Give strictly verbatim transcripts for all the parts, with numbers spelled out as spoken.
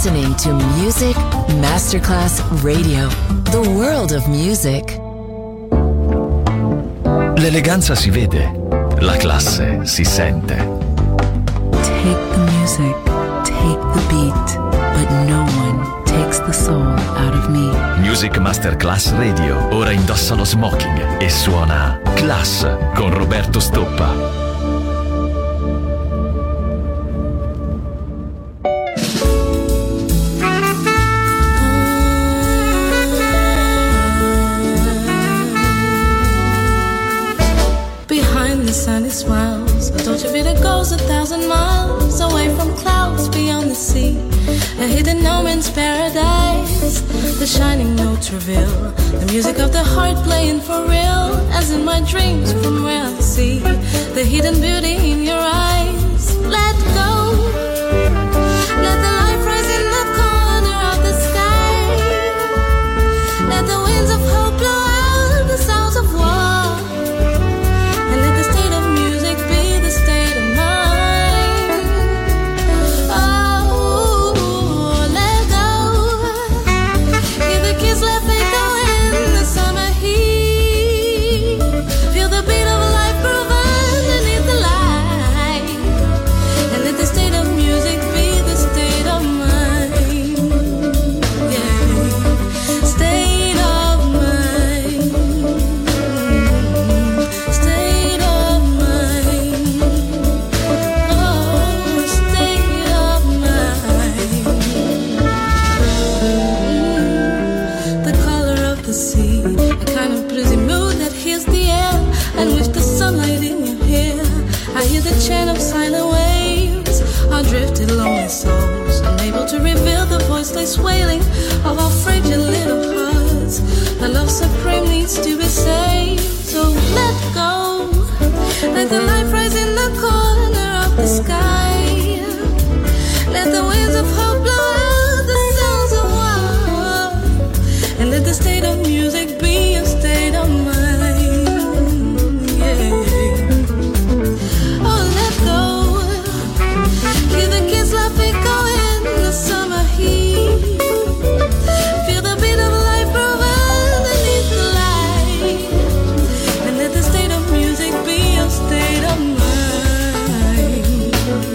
listening to Music Masterclass Radio, the world of music. L'eleganza si vede, la classe si sente. Take the music, take the beat, but no one takes the soul out of me. Music Masterclass Radio, ora indossa lo smoking e suona Class con Roberto Stoppa. Sunny smiles, a Dolce Vita goes a thousand miles away from clouds beyond the sea, a hidden no man's paradise. The shining notes reveal the music of the heart playing for real, as in my dreams from where I see the hidden beauty in your eyes. Let go, let the light rise in the corner of the sky, let the winds of hope blow out the sounds of war. Chant of silent waves, our drifted lonely souls, unable to reveal the voiceless wailing of our fragile little hearts. The love supreme needs to be saved, so let go. Let the light rise in the corner of the sky. Let the winds of hope blow out the sounds of war, and let the state of music be a state of mind. Yeah. Love it go in the summer heat. Feel the beat of life grow underneath the light, and let the state of music be your state of mind.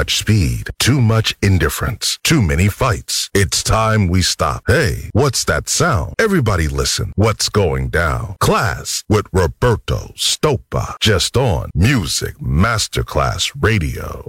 much speed, too much indifference, too many fights. It's time we stop. Hey, what's that sound? Everybody listen. What's going down? Class with Roberto Stoppa. Just on Music Masterclass Radio.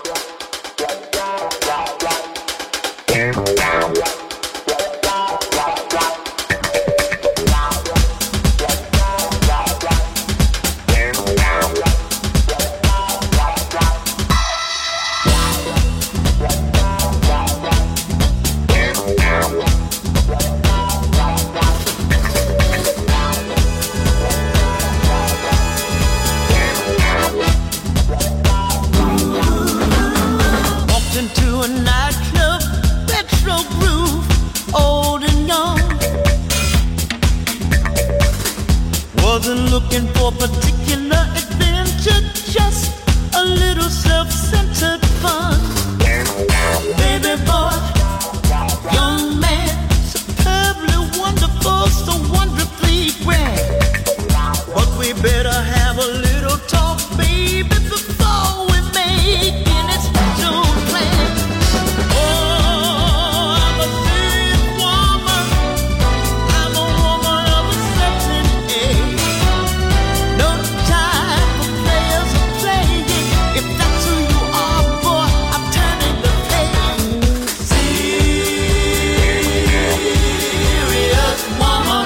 Wasn't looking for particular adventure, just a little self-centered fun. Baby boy, young man, superbly wonderful, so wonderfully grand. But we better have a little talk, baby, before we make any special plan. Oh, I'm a big woman, I'm a woman of a certain age. No time for players who playing. If that's who you are, boy, I'm turning the page. Serious woman.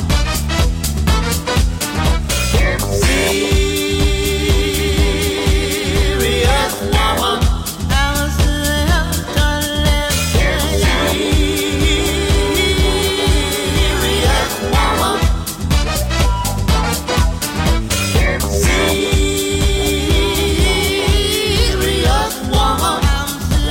Serious woman. I'm a serious woman. Serious woman. Serious woman. I'm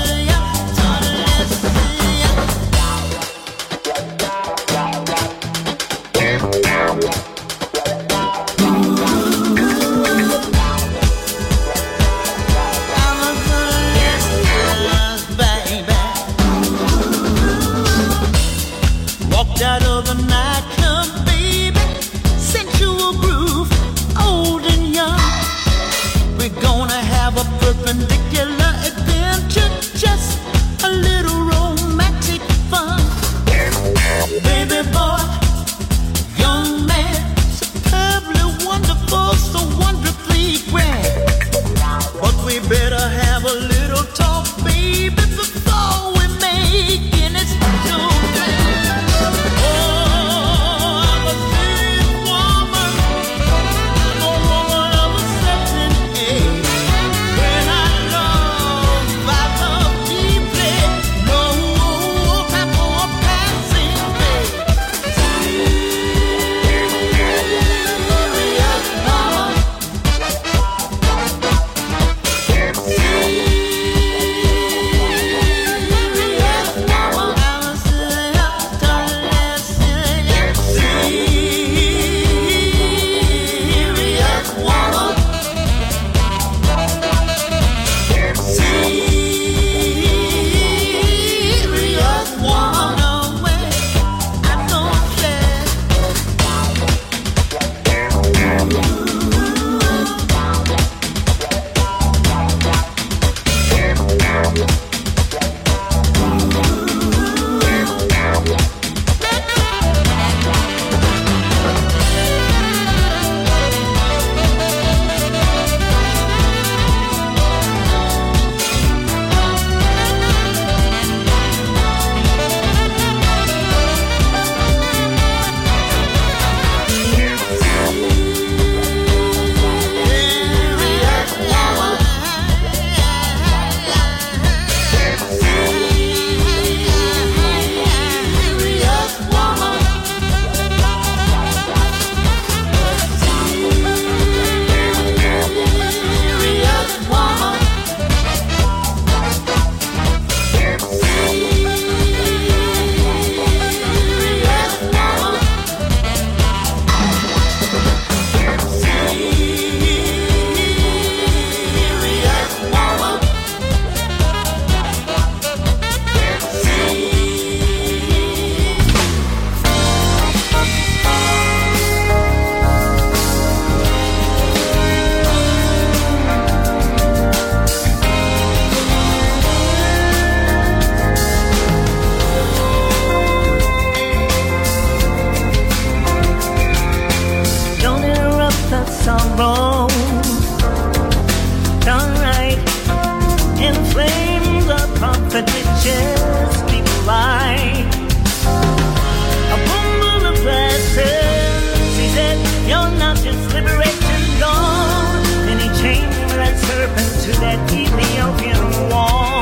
Walked out of the nightclub, baby, sensual groove, old and young. We're gonna have a perpendicular adventure, just a little romantic fun. Baby boy, young man, superbly wonderful, so wonderfully grand. But we better have a little talk, baby, before we make any special plan. Oh, fight. A bundle of glasses, he said, you're not just liberation gone. Then he changed that serpent to that Ethiopian wall.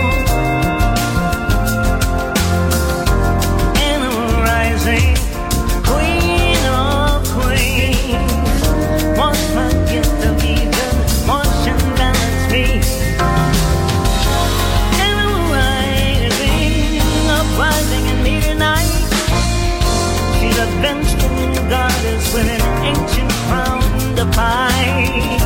And a rising queen of queens, once my gift of Eden, wash and balance me. And a rising, uprising in me tonight. She's a vengeful goddess with an ancient crown to fight.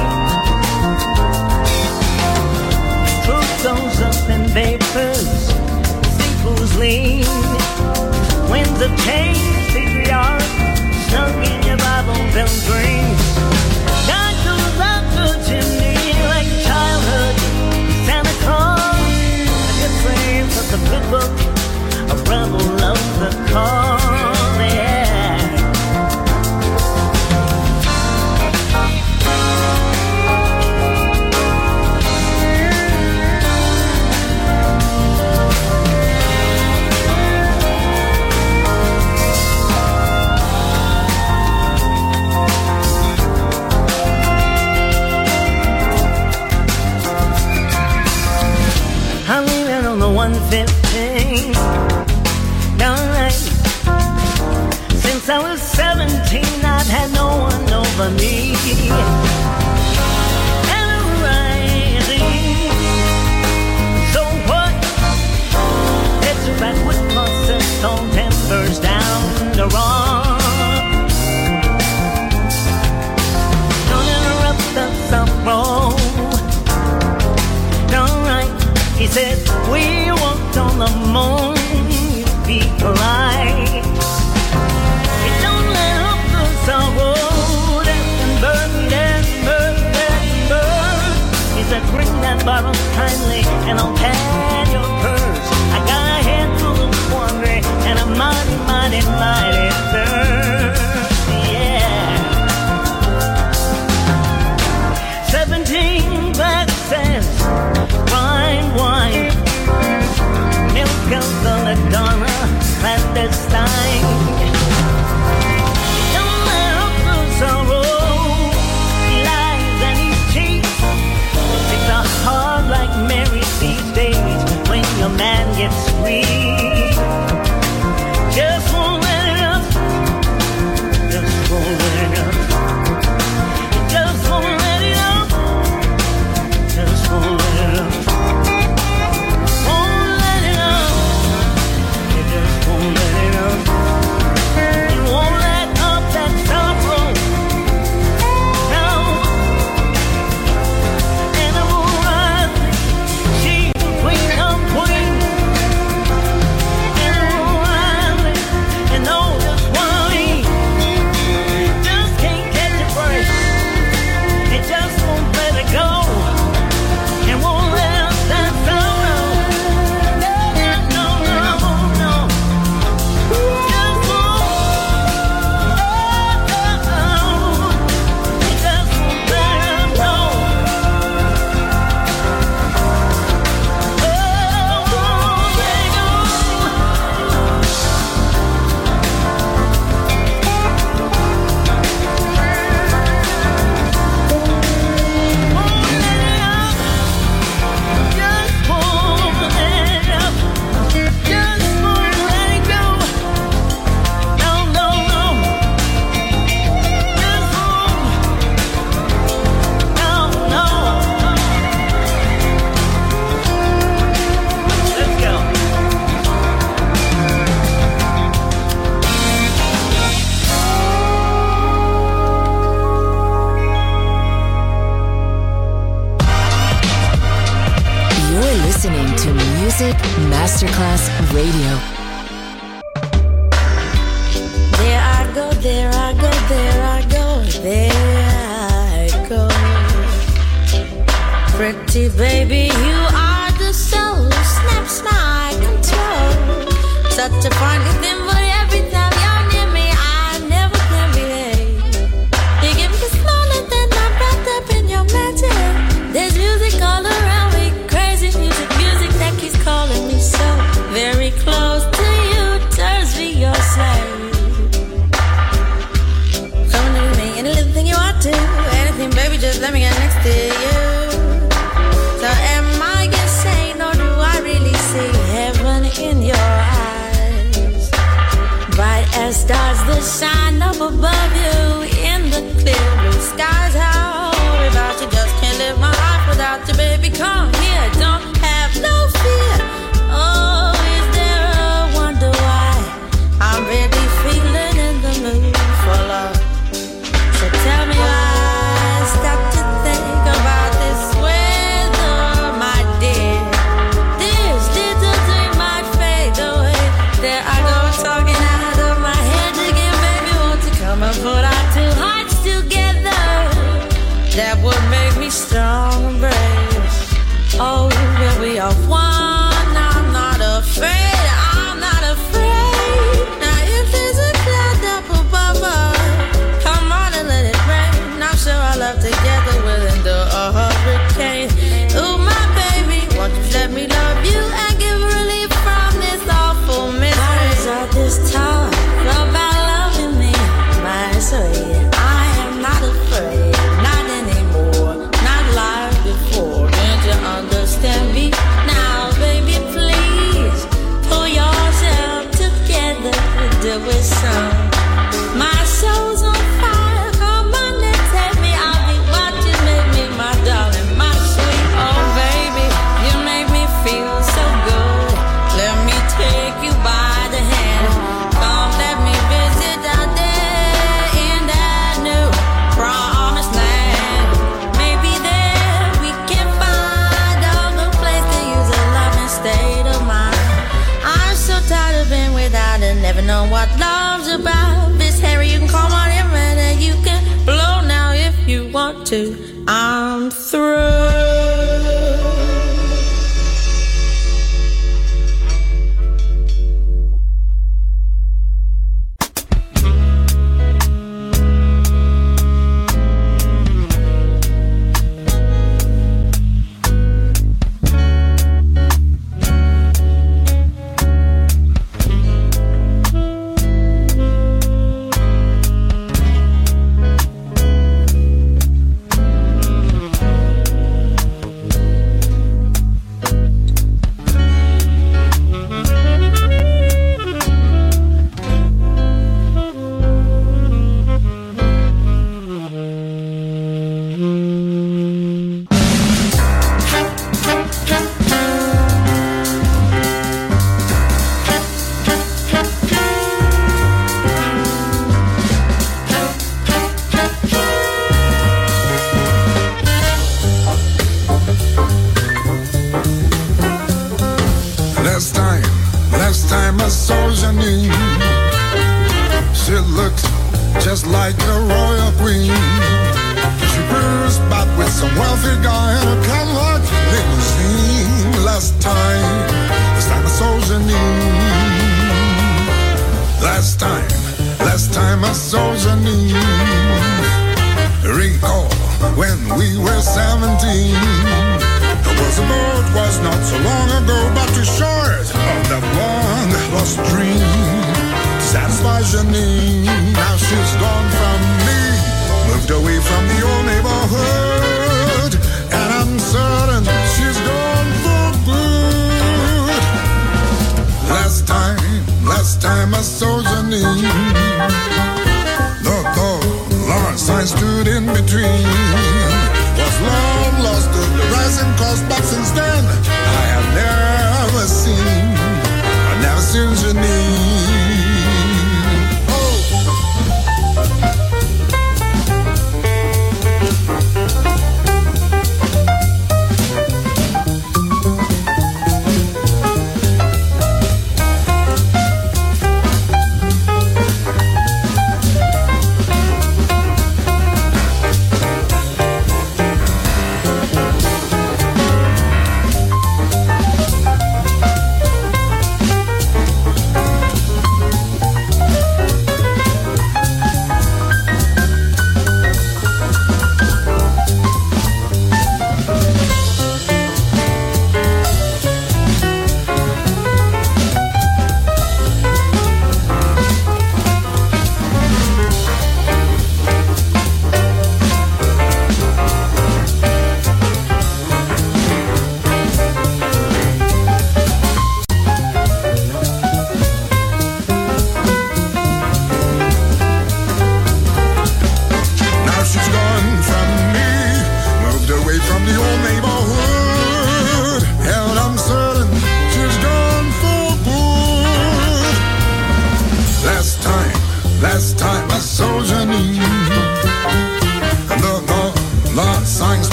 Truth goes up in vapors, sequels lean. Winds of change, patriarch, snug in your Bible-built dreams. God goes up the chimney like childhood, Santa Claus. A good flame of the good book, a rebel of the cause, yeah. I'm leaving on the one fifteen. Alright. Since I was seventeen, I've had no one over me. And I'm rising. So what? It's a backward process on tempers down the wrong. Don't interrupt the sorrow. Alright. He said, we walked on the moon, you be polite. You don't let up the sorrow, that can burn, that burn, that burn. He said, bring that bottle kindly, and I'll pad your purse. I got a head full of quandary, and a mighty, mighty, mighty thirst, yeah. Seventeen glasses, wine, wine, milk of belladonna, clandestine. Don't let up the sorrow, he lies and he cheats. It's a heart like Mary these days when your man gets sweet. Just won't let it up, just won't let it up. Just won't let it up, just won't let it up. Won't let it up, you just won't let it up. You won't let up that sorrow, no. And I won't rise, she's the queen of queens. And I won't rise, and know just what I mean. Just can't catch a break, it just won't let it go. And won't let up that sorrow. No, no, no, no. Just won't. Oh, it just won't let it go. Oh, won't let it go. Won't let it up. Just won't let it up. Just won't let it go. No, no, no. Just won't. No, no. Let's go. You're listening to Music Masterclass Radio. There I go, there I go, there I go, there I go. Pretty baby, you are the soul, snaps my control. Such a fun thing, but every time you're near me, I never can behave. You give me smaller than I'm wrapped up in your magic. There's music all around me, crazy music, music that keeps calling me so very close. never know what love's about. This Harry, you can call on him and you can blow now if you want to. I'm through.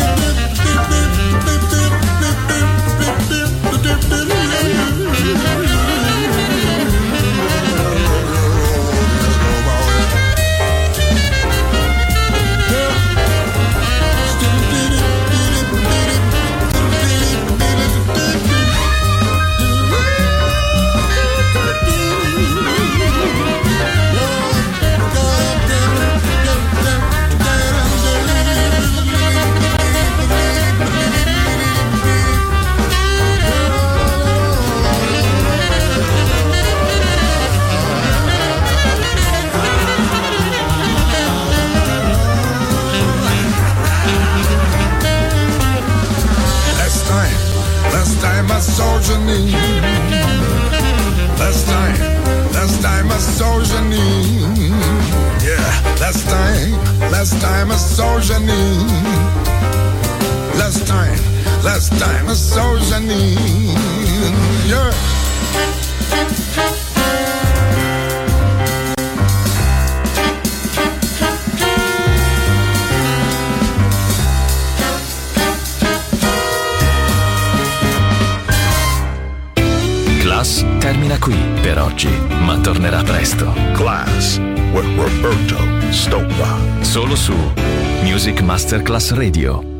Do Janine. Last time, last time I saw Janine. Yeah, last time, last time I saw Janine. Last time, last time I saw Janine. Yeah. Class termina qui per oggi, ma tornerà presto. Class with Roberto Stoppa. Solo su Music Masterclass Radio.